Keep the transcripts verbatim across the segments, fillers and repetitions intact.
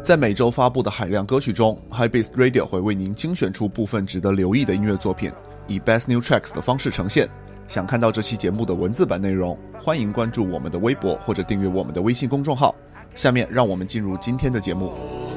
在每周发布的海量歌曲中 Hypebeast Radio 会为您精选出部分值得留意的音乐作品，以 Best New Tracks 的方式呈现。想看到这期节目的文字版内容，欢迎关注我们的微博或者订阅我们的微信公众号。下面让我们进入今天的节目。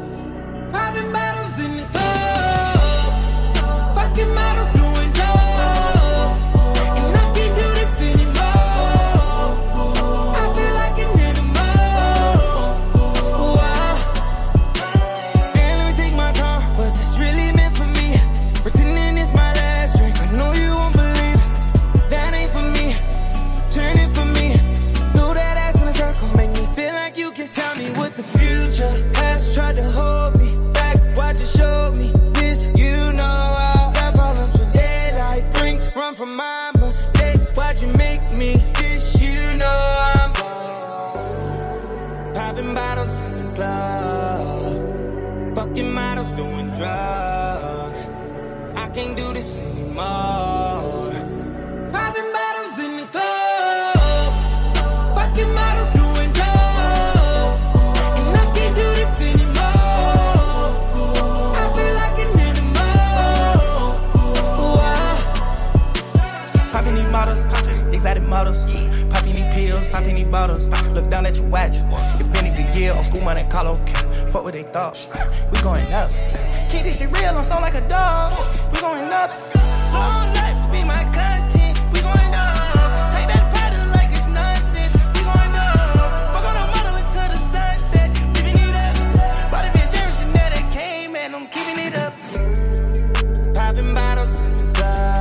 Look down at your watch. It been a good year on school money, Carlo. Fuck what they thought. We going up. Keep this shit real, don't sound like a dog. We going up. Long life be my content. We going up. Take that product like it's nonsense. We going up. Fuck on the model until the sunset. Living it up. Body been Jerry Chanel that came and I'm keeping it up. Popping bottles in the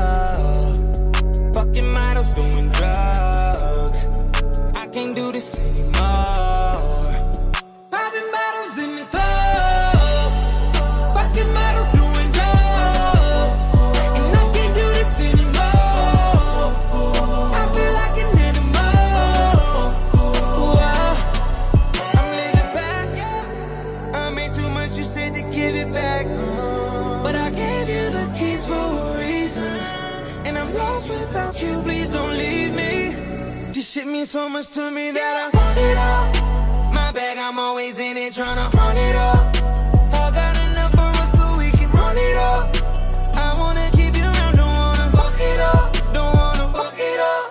club. Fucking models doing drugs. Can't do this anymore. Popping bottles in the club. Fucking models doing drugs. And I can't do this anymore. I feel like an animal. Whoa. I'm living fast. I made too much, you said to give it back. But I gave you the keys for a reason. And I'm lost without you, please don't leave me. This shit means so much to me that I want it up. My bag, I'm always in it, tryna run it up. I got enough for us so we can run it up. I wanna keep you around, don't wanna fuck it up. Don't wanna fuck it up.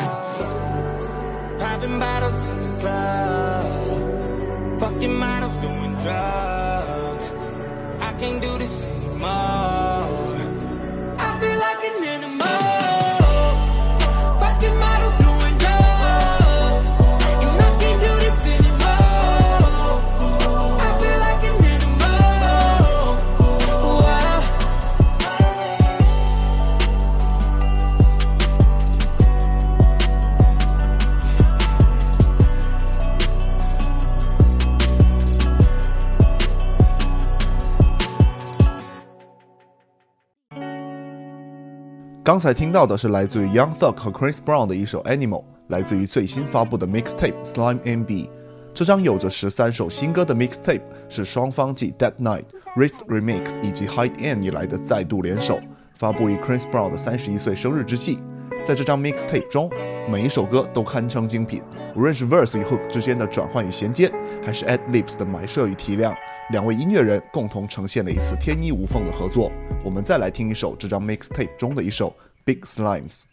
Popping bottles in the club. Fucking models doing drugs. I can't do this anymore. I feel like an animal. Fucking models doing 刚才听到的是来自于 Young Thug 和 Chris Brown 的一首 Animal， 来自于最新发布的 Mixtape Slime M B。 这张有着十三首新歌的 Mixtape 是双方继 Dead Night、Wrist Remix 以及 Hide N 以来的再度联手，发布于 Chris Brown 的三十一岁生日之际。在这张 Mixtape 中，每一首歌都堪称精品，无论是 Verse 与 Hook 之间的转换与衔接，还是 Ad-libs 的埋设与提亮，两位音乐人共同呈现了一次天衣无缝的合作。我们再来听一首这张 Mixtape 中的一首 Big Slimes。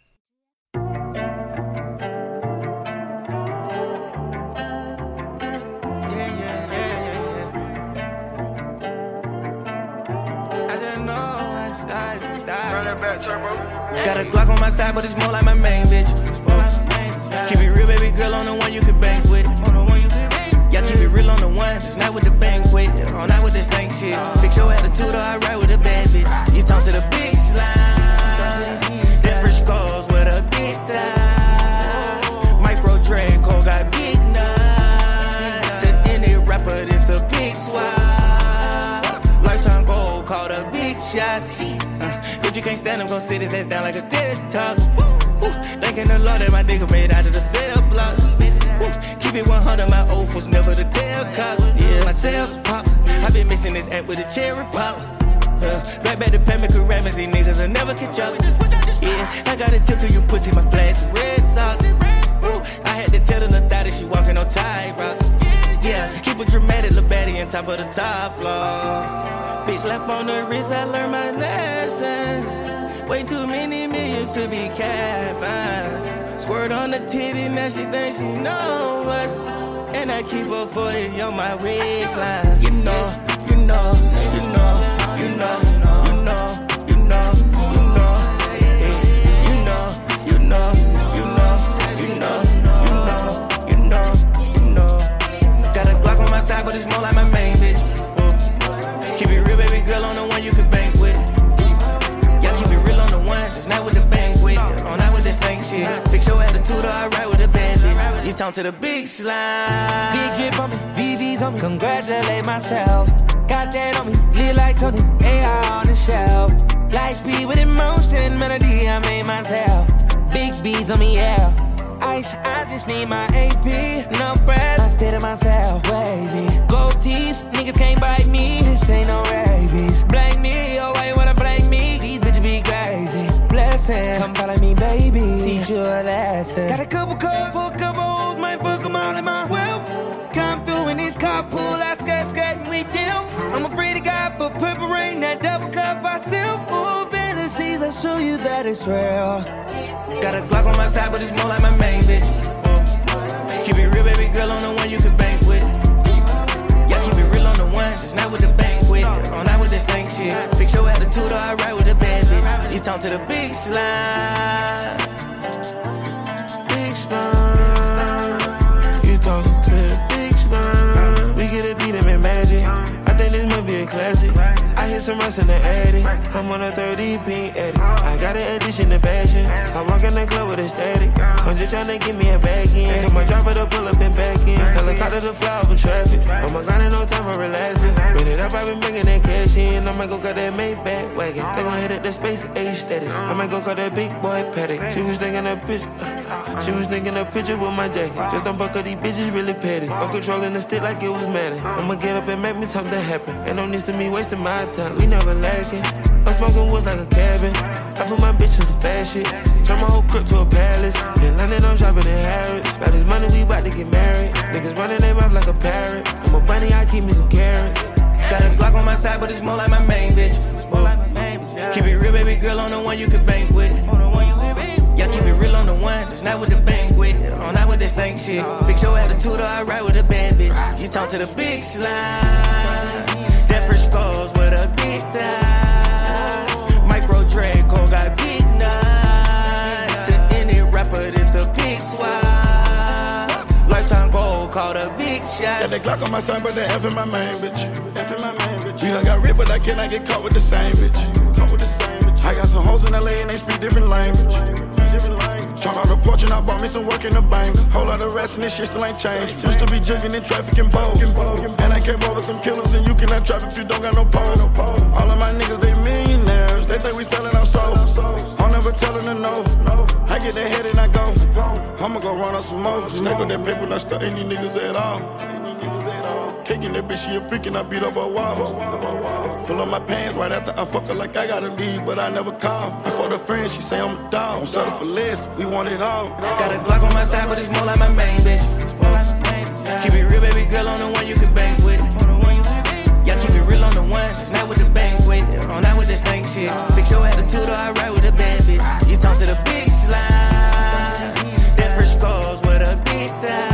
Got a Glock on my side, but it's more like my main bitch. Keep it real, baby girl, on the one you can bang with. Yeah, keep it real on the one, it's not with the banquet. Oh, not with this stank shit. Fix your attitude or I ride with a bad bitch. You talk to the big slime. Different scores with a big thigh. Micro Draco got big nuts. The indie rapper, this a big swap. Lifetime goal called a big shot. If you can't stand him, gon' sit his ass down like a desktop. Thanking the Lord that my nigga made out of the cell block. Keep it one hundred, my oath was never to tell cops. Yeah, my sales pop. I been mixing this app with a cherry pop. Uh, right back to Pamela Karamas, these niggas will never catch up. Yeah, I got a tip to you pussy, my flash is red socks. I had to tell the little thotty she walking on tight rocks. Yeah, keep it dramatic, little baddie, and top of the top floor. Bitch slap on the wrist, I learned my lessons. Way too many millions to be capping. Squirt on the titty, now she thinks she know us. And I keep a forty on my waistline. You know, you know, you know, you know, you know, you know, you know, you know, you know, you know, you know, you know, you know. Got a Glock on my side, but it's more like my main bitch. Keep it real, baby girl, on the one you can bank with. Y'all keep it real on the one, it's not with the banquet. On not with this stank shit. Fix your attitude, or I ride with a bad bitch. You talk to the big slime. Big drip on me, B B's on me. Congratulate myself. Got that on me, lit like Tony. A R on the shelf. Light speed with emotion, melody I made myself. Big B's on me, yeah. Ice, I just need my A P. No breath, I stay to myself, wavy. Gold teeth, niggas can't bite me. This ain't no rabies. Blame me, oh why you wanna blame me? These bitches be crazy. Blessing, come follow me, baby. Teach you a lesson. Got a couple calls for a couple hoes, might fuck them all in my whip. Come through in this carpool, I skirt, skirt, and we deal. I'm a pretty guy for purple rain, that double cup I sip. Ooh, fantasies, I show you that it's real. Got a Glock on my side, but it's more like my main bitch. Keep it real, baby girl, on the one you can bank with. Y'all keep it real on the one, it's not with the banquet. On not with this stank shit. Fix your attitude, or I ride with a bad bitch. You talk to the big slime. Big slime. You talk to the big slime. We get a beat him in magic. I think this might be a classic. I hear some rust in the attic. I'm on a thirty pink edit. I got an addition to fashion. I walk in the club with a static. I'm just tryna get me a bag in. Tell my driver to pull up and back in. Helicopter to fly over traffic. Oh my god, ain't no time for relaxing. Bring it up, I been bringing that cash in. I might go cut that Maybach wagon. They gon' hit at the space age status. I might go cut that big boy paddock. She was thinking a picture. Uh, she was thinking a picture with my jacket. Just don't buck up, these bitches really petty. I'm controlling the stick like it was Madden. I'ma get up and make me something happen. Ain't no need to me wasting my time. We never lacking. I'm smoking woods like a cabin. I put my bitch in some fast shit. Turn my whole crib to a palace. Been London, I'm shopping in Harrods. Now this money, we bout to get married. Niggas running their mouth like a parrot. I'm a bunny, I keep me some carrots. Got a Glock on my side, but it's more like my main bitch. Keep it real, baby girl, on the one you can bank with. Y'all keep it real on the one, it's not with the banquet. On not with this stank shit. Fix your attitude, or I ride with a bad bitch. You talk to the big slime. That fresh goes with a big thigh. Micro Draco got big nuts. To any rapper, this a big swap. Lifetime goal called a big shot. Got that Glock on my side, but that F in my main bitch. F in my main bitch. You done got ripped, but I cannot get caught with the same bitch. Caught with the same bitch. I got some hoes in L A and they speak different language. Different language. Trying on the porch and I bought me some work in the bank. Whole lot of rats and this shit still ain't changed. Used to be jugging in traffic and bows. And I came over some killers and you cannot trap if you don't got no pole. All of my niggas, they millionaires. They think we selling our souls. I'm never telling them no. I get that head and I go. I'ma go run on some more. Stack with that paper, not stuck any niggas at all. Kicking that bitch, she a freaking, I beat up her walls. Pull up my pants right after I fuck her like I gotta leave, but I never call. And for the friend, she say I'm a dog. Don't settle for less, we want it all. Got a Glock on my side, but it's more like my main bitch. Keep it real, baby girl, on the one you can bank with. Y'all keep it real on the one, it's not with the banquet. On not with this stank shit. Fix your attitude, or I ride with a bad bitch. You talk to the big slime. That fresh goes with a big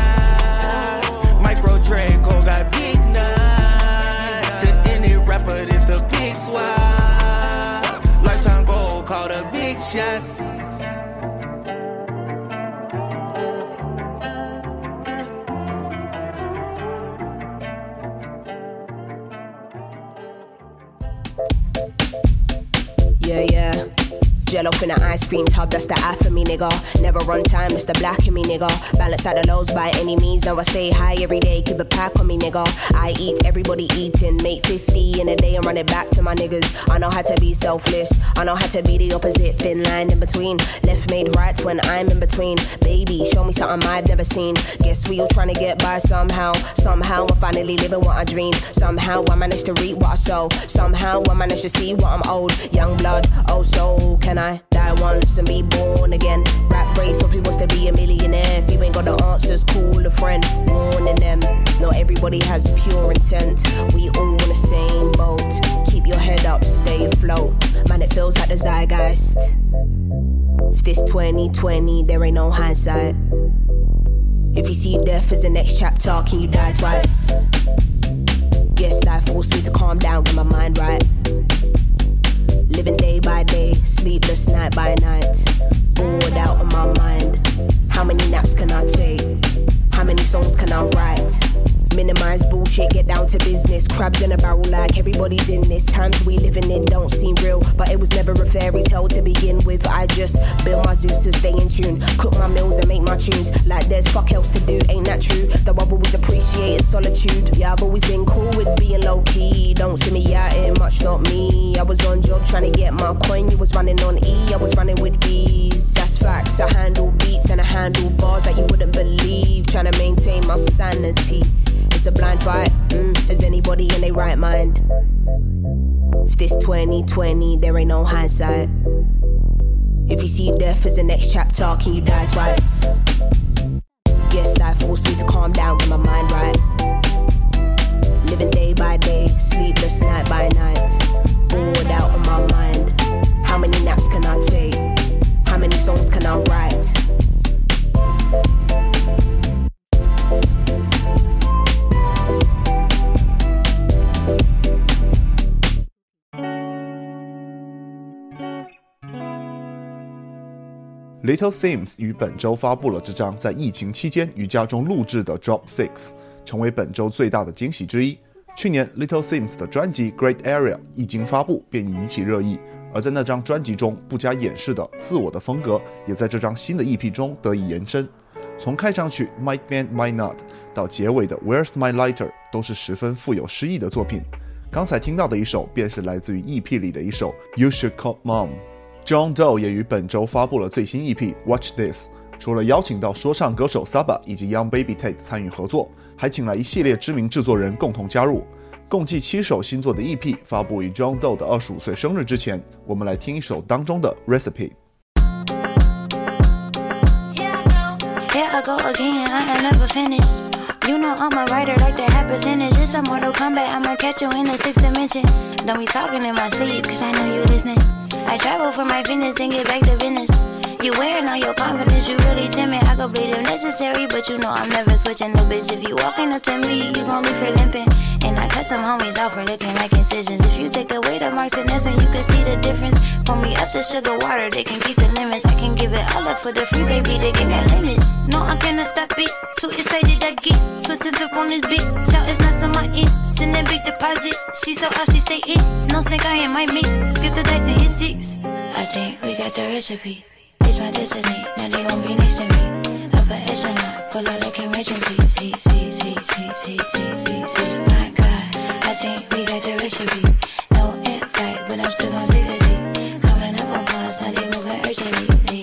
thigh. Micro Draco got big nuts. To any rapper, this a big swap. Lifetime goal called a big shots. Yeah, yeah. Jello finna ice cream tub, that's the eye for me, nigga. Never run time, it's the black in me, nigga. Balance out the lows by any means, now I stay high every day, keep a pack on me, nigga. I eat, everybody eating, make fifty in a day and run it back to my niggas. I know how to be selfless, I know how to be the opposite, thin line in between. Left made right when I'm in between. Baby, show me something I've never seen. Guess we all trying to get by somehow. Somehow I'm finally living what I dream. Somehow I managed to reap what I sow. Somehow I managed to see what I'm owed. Young blood, oh so can I I? Die once and be born again. Rap race of who wants to be a millionaire. If you ain't got the answers, call a friend. Warning them, not everybody has pure intent. We all in the same boat. Keep your head up, stay afloat. Man, it feels like the zeitgeist. If this twenty twenty, there ain't no hindsight. If you see death as the next chapter, can you die twice? Yes, life forced me to calm down, get my mind right. Living day by day, sleepless night by night. Bored out of my mind. How many naps can I take? How many songs can I write? Minimize bullshit, get down to business. Crabs in a barrel like everybody's in this. Times we living in don't seem real, but it was never a fairy tale to begin with. I just build my Zeus to stay in tune. Cook my meals and make my tunes. Like there's fuck else to do, ain't that true? Though I've always appreciated solitude. Yeah, I've always been cool with being low key. Don't see me out here much, not me. I was on job trying to get my coin. You was running on E, I was running with ease. That's facts, I handle beats and I handle bars that you wouldn't believe. Trying to maintain my sanity. It's a blind fight, mm, is anybody in their right mind? If this twenty twenty, there ain't no hindsight. If you see death as the next chapter, can you die twice? Yes, life forced me to calm down, get my mind right. Living day by day, sleepless night by night. Bored out of my mind. How many naps can I take? How many songs can I write? Little Sims 于本周发布了这张在疫情期间于家中录制的 Drop Six， 成为本周最大的惊喜之一。去年 Little Sims 的专辑 Great Area 一经发布便引起热议，而在那张专辑中不加掩饰的自我的风格，也在这张新的 E P 中得以延伸。从开场曲 Might Man Might Not 到结尾的 Where's My Lighter 都是十分富有诗意的作品。刚才听到的一首便是来自于 E P 里的一首 You Should Call Mom。John Doe 也于本周发布了最新 E P Watch This， 除了邀请到说唱歌手 Saba 以及 Young Baby Tate 参与合作，还请来一系列知名制作人共同加入，共计七首新作的 E P 发布于 John Doe 的二十五岁生日之前。我们来听一首当中的 Recipe。Here I go again, I ain't never finished. You know I'm a writer like the half percentage. It's a Mortal Kombat, I'ma catch you in the sixth dimension. Don't be talking in my sleep, cause I know you listening. I travel for my fitness, then get back to business. You wearing all your confidence, you really timid. I go bleed if necessary, but you know I'm never switching. No bitch, if you walking up to me, you gon' leave her limping. And I cut some homies off for looking like incisions. If you take away the marks, and that's when you can see the difference. Pour me up the sugar water, they can keep the limits. I can give it all up for the free baby, they can got limits. No, I cannot stop it, too excited I get. Twist and flip on this beat, shout it's not on my end. Send that big deposit, she so out, she stay in. No snake, I ain't my mate, skip the dice and hit six. I think we got the recipe. It's my destiny, now they won't be next to me. Upper echelon, pull out like emergency. See, see, see, see, see, see, see, see. My God, I think we got the recipe. No end fight, but I'm still gon' take a seat. Coming up on pause, now they moving urgently.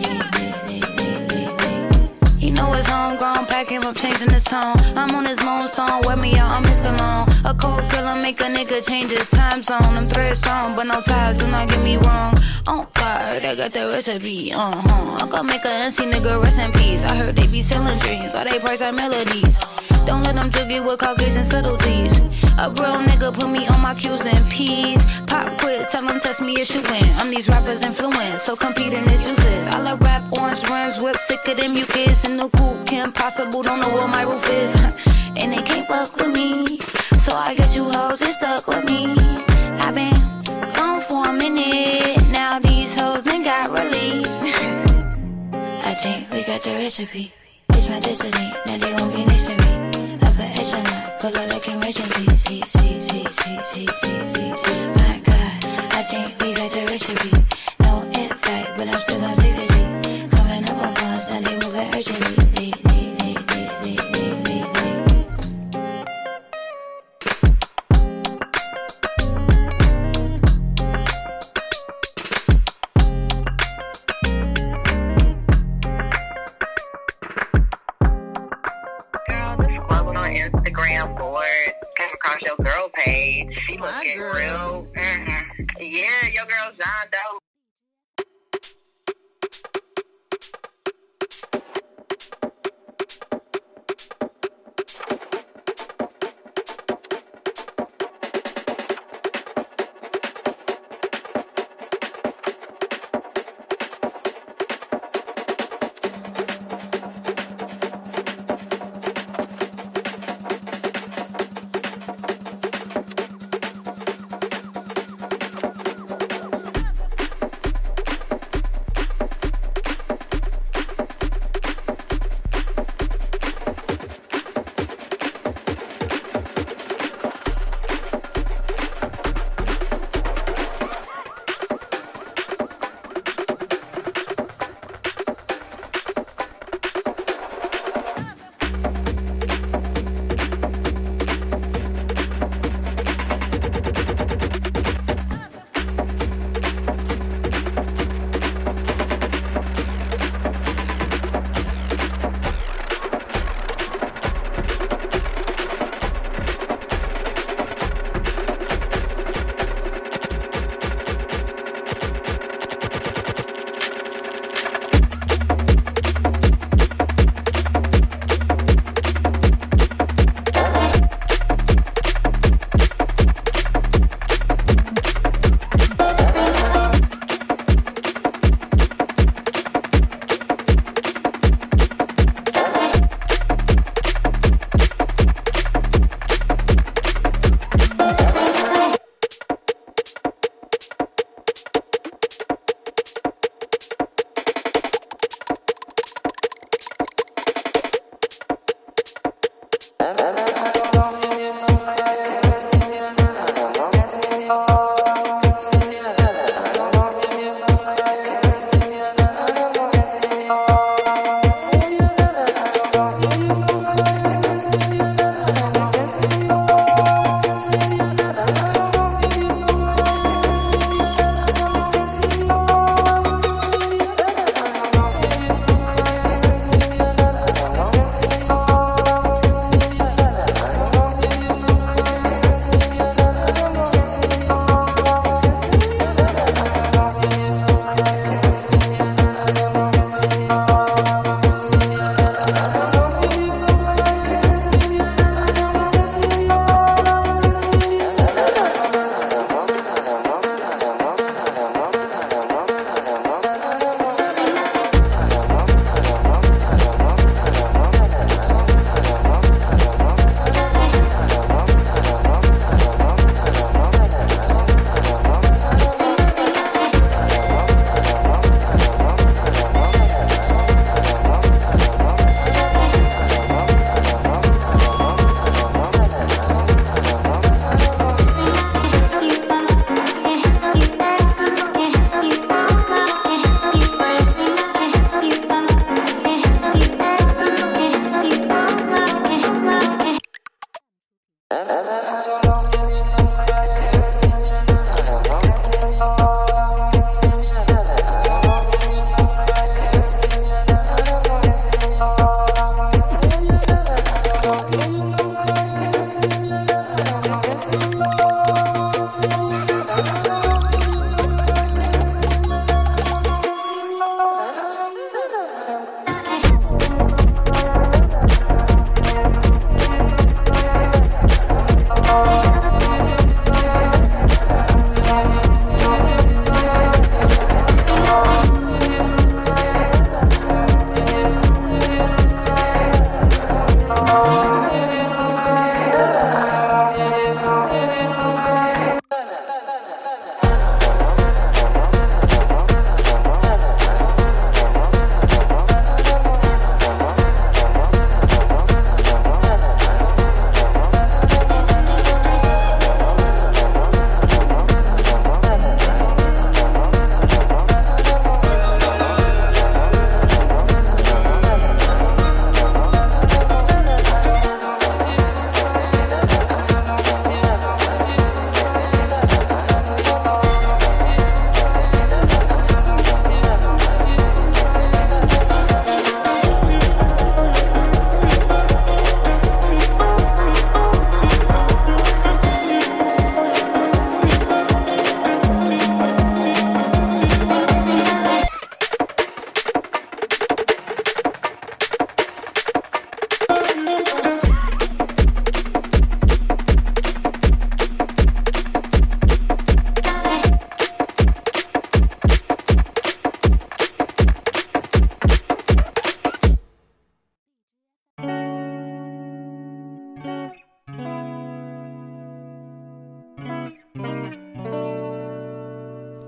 He know it's homegrown, pack him up, changing his tone. I'm on his moonstone, wear me out, I'm his cologne. A cold killer make a nigga change his time zone. I'm thread strong, but no ties, do not get me wrong. Oh God, I got the recipe, uh-huh. I can make a N C nigga rest in peace. I heard they be selling dreams, while they price our melodies. Don't let them juggy with Caucasian subtleties. A real nigga put me on my Q's and P's. Pop quit, tell them test me if you win. I'm these rappers' influence, so competing is useless. I love rap, orange rims, whip, sick of them you kids. In the coop, Kim Possible, don't know what my roof is. And they can't fuck with me, so I guess you hoes is stuck with me. I been gone for a minute, now these hoes done got relief. I think we got the recipe. It's my destiny, now they won't be next to me. Upper echelon, pull out like emergency. See, see, see, see, see, see, see, see. My God, I think we got the recipe. No end fight, but I'm still gon' stay busy. Coming up on phones, now they moving urgently. Instagram board, came across your girl page. She looking real. Mm-hmm. Yeah, your girl John Doe.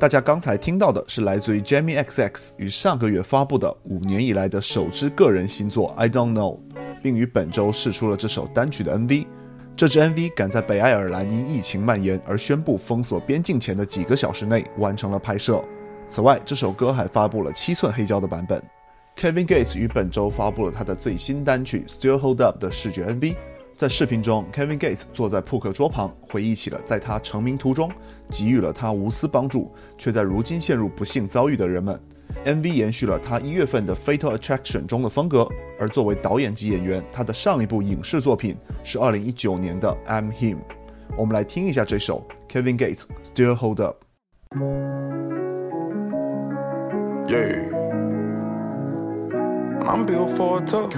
大家刚才听到的是来自于 Jamie X X 于上个月发布的五年以来的首支个人新作 I Don't Know， 并于本周释出了这首单曲的 M V。 这支 M V 赶在北爱尔兰因疫情蔓延而宣布封锁边境前的几个小时内完成了拍摄。此外，这首歌还发布了七寸黑胶的版本。 Kevin Gates 于本周发布了他的最新单曲 Still Hold Up 的视觉 M V。 在视频中， Kevin Gates 坐在扑克桌旁，回忆起了在他成名途中给予了他无私帮助却在如今陷入不幸遭遇的人们。 M V 延续了他一月份的 Fatal Attraction 中的风格，而作为导演及演员，他的上一部影视作品是二零一九年的 I'm Him。 我们来听一下这首 Kevin Gates Still Hold Up。 Yeah, I'm built for it tough.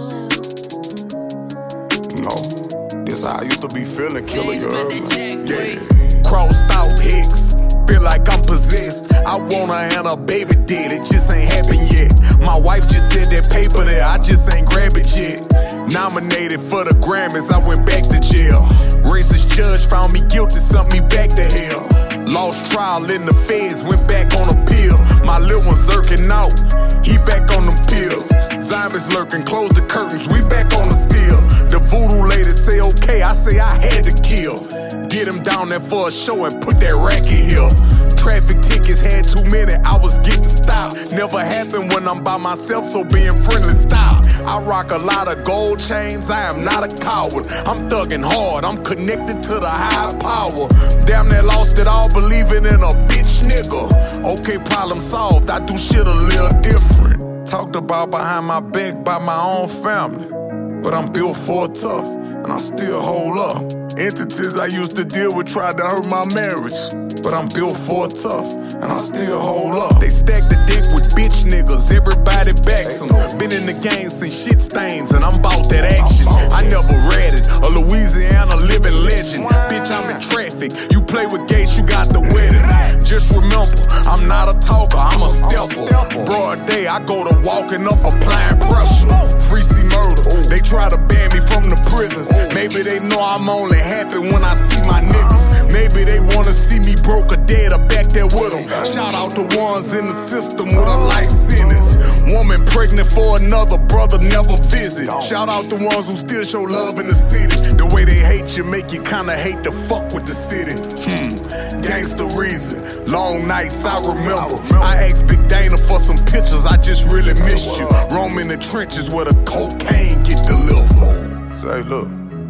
No, this how I used to be feeling, killer, you heard me? Yeah, crossed out hicks, feel like I'm possessed. I wanna and a baby dead, it just ain't happened yet. My wife just said that paper there, I just ain't grab it yet. Nominated for the Grammys, I went back to jail. Racist judge found me guilty, sent me back to hell. Lost trial in the feds, went back on appeal. My little one's zerking out, he back on them pills. Zombies lurking, close the curtains, we back on the steel. The voodoo lady say okay, I say I had to kill. Get him down there for a show and put that racket here. Traffic tickets had too many, I was getting stopped. Never happened when I'm by myself, so being friendly stop. I rock a lot of gold chains, I am not a coward. I'm thugging hard, I'm connected to the high power. Damn near lost it all, believing in a bitch nigga. Okay, problem solved, I do shit a little different. Talked about behind my back by my own family, but I'm built for it tough, and I still hold up. Entities I used to deal with tried to hurt my marriage, but I'm built for it tough, and I still hold up. They stack the deck with bitch niggas, everybody backs them. Been in the game since shit stains, and I'm bout that action. I never read it, a Louisiana living legend. Bitch, I'm in traffic, you play with Gates, you got the wedding. Just remember, I'm not a talker, I'm a stepper. Broad day, I go to walking up, applying pressure. Free C murder, they try to ban me from the prisons. Maybe they know I'm only happy when I see my niggas. Maybe they wanna see me broke or dead or back there with them. Shout out to ones in the system with a life sentence. Woman pregnant for another brother, never visit. Shout out to ones who still show love in the city. The way they hate you make you kinda hate to fuck with the city. Hmm, gangsta reason, long nights I remember. I asked Big Dana for some pictures, I just really missed you. Roam in the trenches where the cocaine get delivered. Say look,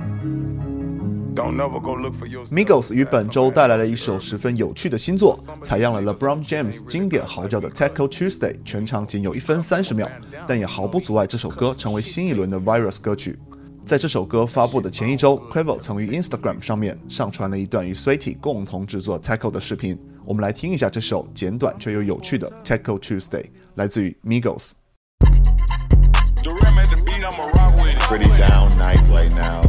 Migos 于本周带来了一首十分有趣的新作，采样了 LeBron James 经典嚎叫的 Taco Tuesday， 全长仅有一分三十秒，但也毫不阻碍这首歌成为新一轮的 Virus 歌曲。在这首歌发布的前一周 Quavo 曾于 Instagram 上面上传了一段与 Sweaty 共同制作 Taco 的视频，我们来听一下这首简短却又有趣的 Taco Tuesday， 来自于 Migos。 Pretty down night right now.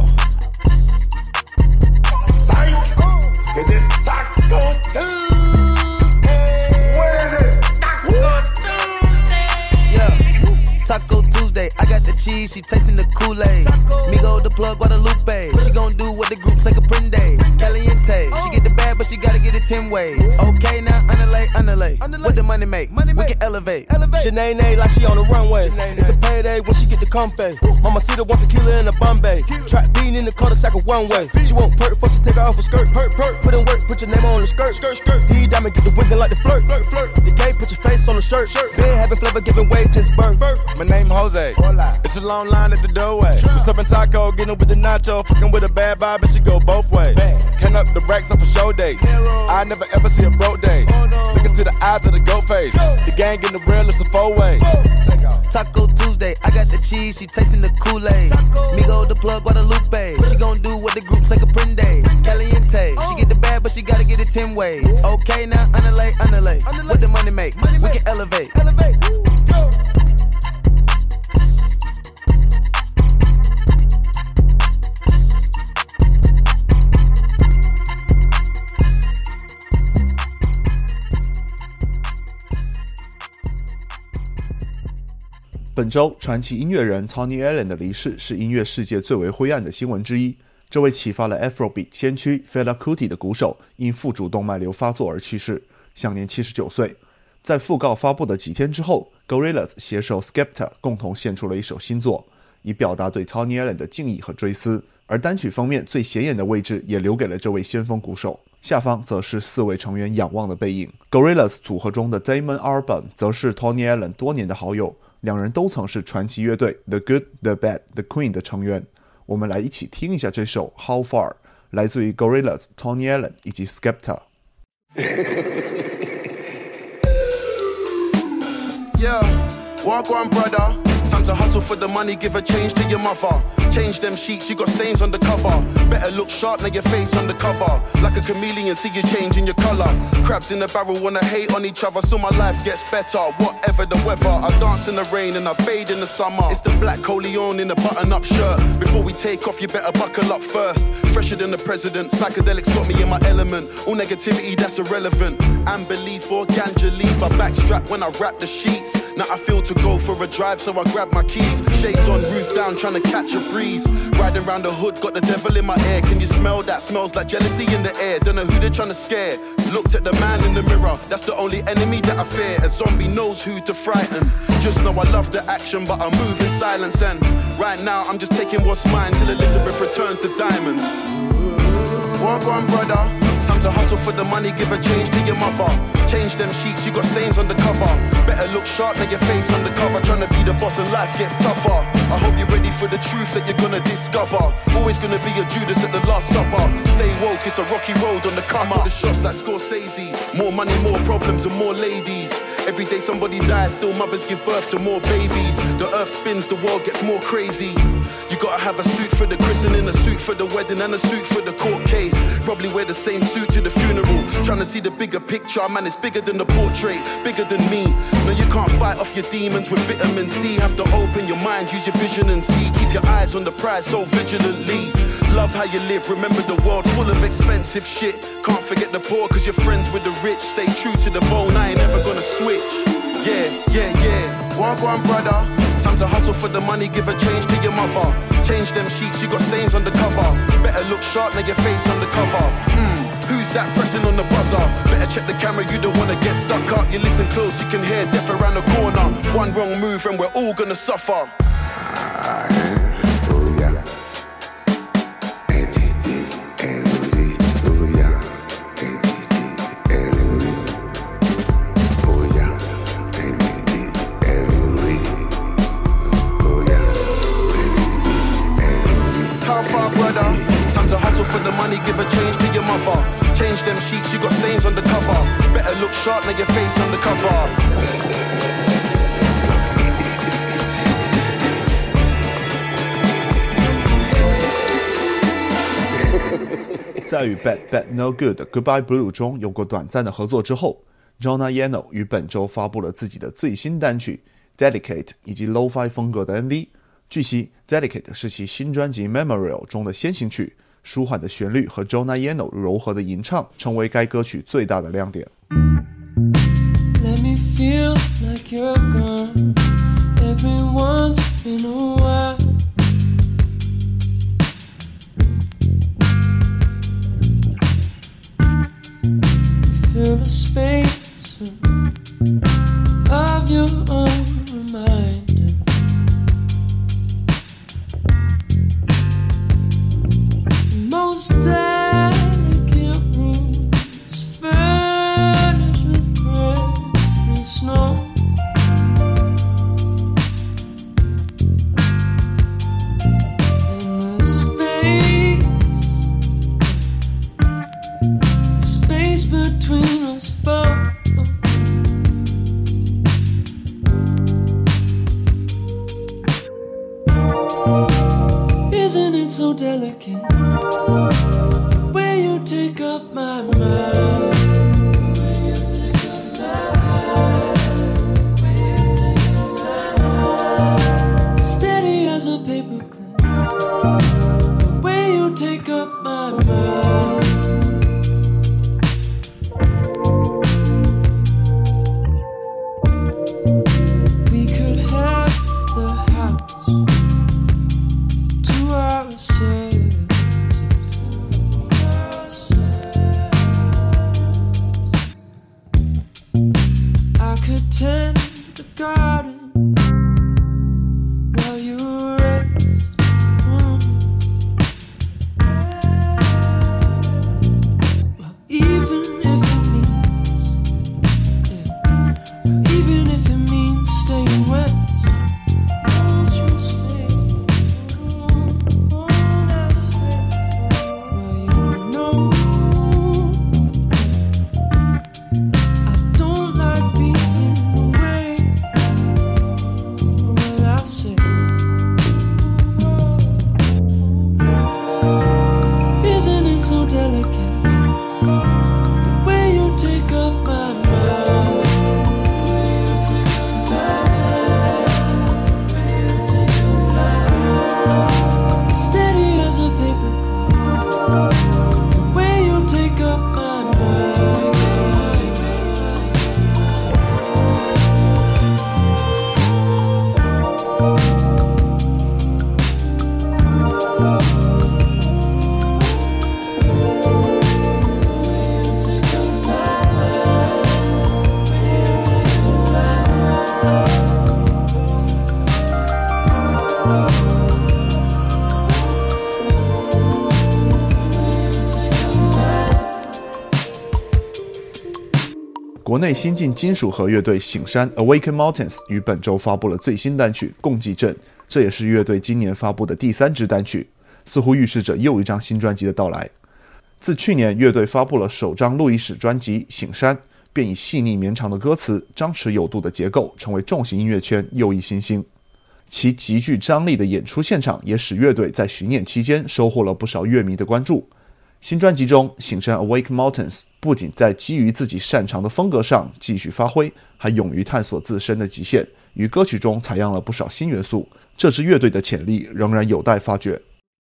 Cause it's Taco Tuesday. What is it? Taco Tuesday. Yeah, Taco Tuesday. I got the cheese, she tasting the Kool-Aid. Migo the plug, Guadalupe. She gon' do what the group say Caprende. Caliente. She get the bag, but she gotta get it ten ways. Okay, now underlay, underlay. What the money make? We can elevate. Shanae like she on the runway. It's a payday when she get the comfy. Mama Cedar wants a killer in a Bombay. Trap bean in the cul-de-sac of one way. She won't perk before she take her off her skirt. Perk, perk. Put in work, put your name on the skirt. Skirt, skirt. D diamond get the winking like the flirt. Flirt, flirt. The gay, put your face on the shirt. Shirt. Been having flavor, giving way since birth. My name Jose. It's a long line at the doorway. We serving taco, getting with the nacho, fucking with a bad vibe, and she go both ways. Can up the racks up for show days. I never ever see a broke day. Looking to the eyes of the goat face. The gang getting the real, it's a four way. Taco Tuesday, I got the cheese, she tasting the Kool-Aid. Migo the plug, Guadalupe. She gon' do what the group say Caprende. Caliente. She get the bag, but she gotta get it ten ways. Okay, now underlay, underlay. What the money make? We can elevate. Elevate. Go. 本周传奇音乐人 Tony Allen 的离世是音乐世界最为灰暗的新闻之一。这位启发了 Afrobeat 先驱 Fela Kuti 的鼓手因腹主动脉瘤发作而去世， 享年七十九岁。在讣告发布的几天之后 Gorillaz 携手 Skepta 共同献出了一首新作，以表达对 Tony Allen 的敬意和追思，而单曲封面最显眼的位置也留给了这位先锋鼓手，下方则是四位成员仰望的背影。 Gorillaz 组合中的 Damon Albarn 则是 Tony Allen 多年的好友，两人都曾是传奇乐队 The Good, The Bad, The Queen 的成员。我们来一起听一下这首 How Far， 来自于 Gorillaz, Tony Allen 以及 Skepta。 Yeah, walk on, brother. Time to hustle for the money, give a change to your mother. Change them sheets, you got stains on the cover. Better look sharp, now your face on the cover. Like a chameleon, see you changing your color. Crabs in the barrel wanna hate on each other, so my life gets better. Whatever the weather, I dance in the rain and I bathe in the summer. It's the black Coleon in a button-up shirt. Before we take off, you better buckle up first. Fresher than the president, psychedelics got me in my element. All negativity, that's irrelevant. And belief or ganja leaf, I backstrap when I wrap the sheets. Now I feel to go for a drive, so I grab my keys. Shades on, roof down, trying to catch a breeze. Riding around the hood, got the devil in my ear. Can you smell that? Smells like jealousy in the air. Don't know who they're trying to scare. Looked at the man in the mirror, that's the only enemy that I fear. A zombie knows who to frighten. Just know I love the action, but I move in silence. And right now I'm just taking what's mine till Elizabeth returns the diamonds. Walk on, brother. Time to hustle for the money, give a change to your mother. Change them sheets, you got stains on the cover. Better look sharp, now your face on the cover. Trying to be the boss and life gets tougher. I hope you're ready for the truth that you're gonna discover. Always gonna be a Judas at the last supper. Stay woke, it's a rocky road on the come up. The shots like Scorsese. More money, more problems and more ladies. Every day somebody dies, still mothers give birth to more babies. The earth spins, the world gets more crazy. You gotta have a suit for the christening, a suit for the wedding and a suit for the court case. Probably wear the same suit to the funeral. Trying to see the bigger picture, man, it's bigger than the portrait, bigger than me. No, you can't fight off your demons with vitamin C. Have to open your mind, use your vision and see. Keep your eyes on the prize so vigilantly. Love how you live, remember the world full of expensive shit. Can't forget the poor cause you're friends with the rich. Stay true to the bone, I ain't never gonna switch. Yeah, yeah, yeah, walk on, brother. Time to hustle for the money, give a change to your mother. Change them sheets, you got stains on the cover. Better look sharp, now your face on the cover. Hmm, who's that pressing on the buzzer? Better check the camera, you don't wanna get stuck up. You listen close, you can hear death around the corner. One wrong move and we're all gonna suffer. For the money, give a change to your mother. Change them sheets, you got stains on the cover. Better look sharp, now your face on the cover. 在与 Bad Bad No Good 的 Goodbye Blue 中有过短暂的合作之后， Jonah Yano 于本周发布了自己的最新单曲 Delicate 以及 Lo-Fi 风格的 M V。 据悉 Delicate 是其新专辑 Memorial 中的先行曲，舒缓的旋律和 Jonah Yano 柔和的吟唱成为该歌曲最大的亮点。 Let me feel like you're gone every once in a while. Feel the space of your own reminder. Most delicate rooms furnished with bread and snow. And the space, the space between us both. Isn't it so delicate? Where you take up my mind, where you take up my mind, where you take up my mind. Steady as a paperclip, where you take up my mind. We could have the house to ourselves. 国内新晋金属核乐队醒山 Awaken Mountains 于本周发布了最新单曲《共济阵》，这也是乐队今年发布的第三支单曲，似乎预示着又一张新专辑的到来。自去年乐队发布了首张录音室专辑《醒山》，便以细腻绵长的歌词、张弛有度的结构，成为重型音乐圈又一新星。其极具张力的演出现场也使乐队在巡演期间收获了不少乐迷的关注。新专辑中，醒山 Awake Mountains 不仅在基于自己擅长的风格上继续发挥，还勇于探索自身的极限，于歌曲中采样了不少新元素。这支乐队的潜力仍然有待发掘。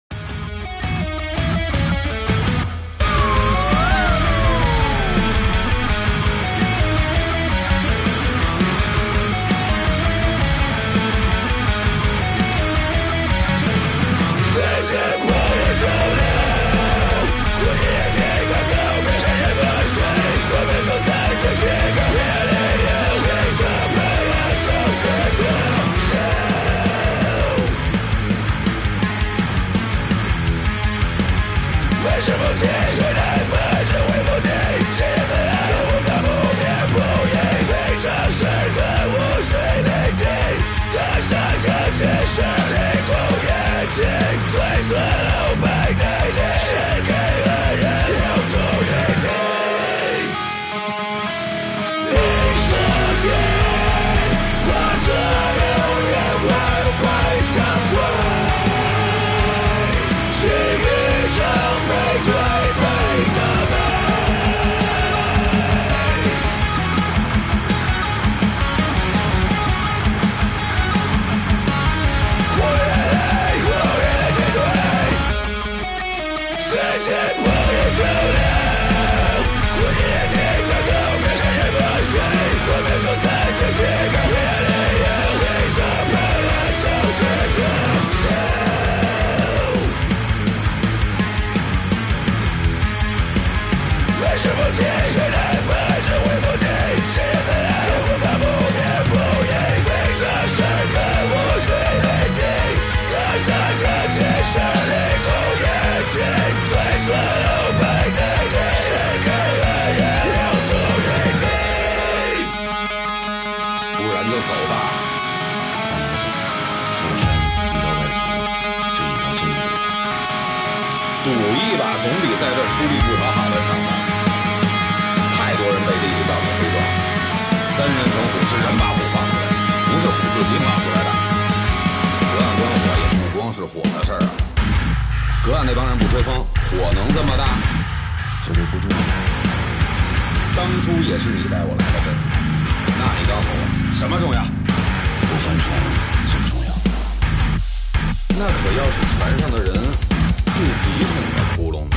赌一把总比在这出力不讨好的强吧。太多人被利益道德推撞，三人成虎是人把虎放出来，不是虎自己跑出来的。隔岸观火也不光是火的事儿啊，隔岸那帮人不吹风，火能这么大？ 这就不重要。 当初也是你带我来的这儿，那你告诉我什么重要？ 不翻船最重要。 那可要是船上的人自己捅的窟窿呢？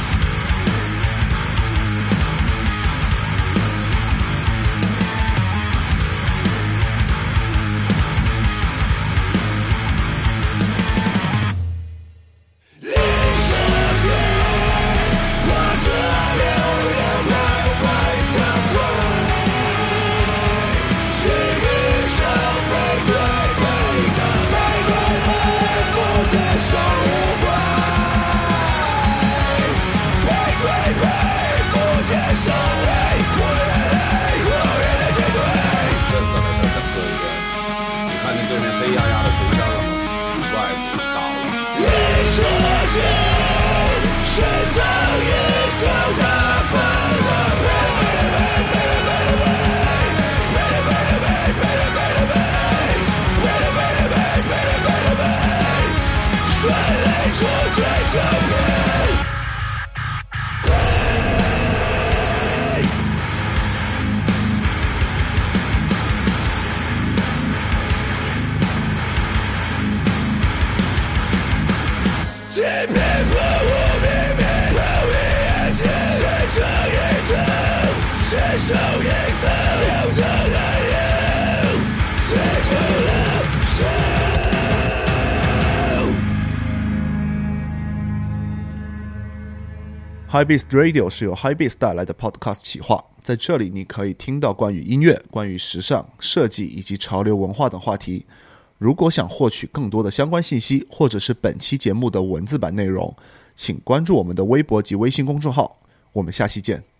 Hypebeast Radio 是由 Hypebeast 带来的 Podcast 企划，在这里你可以听到关于音乐、关于时尚、设计以及潮流文化等话题。如果想获取更多的相关信息，或者是本期节目的文字版内容，请关注我们的微博及微信公众号。我们下期见。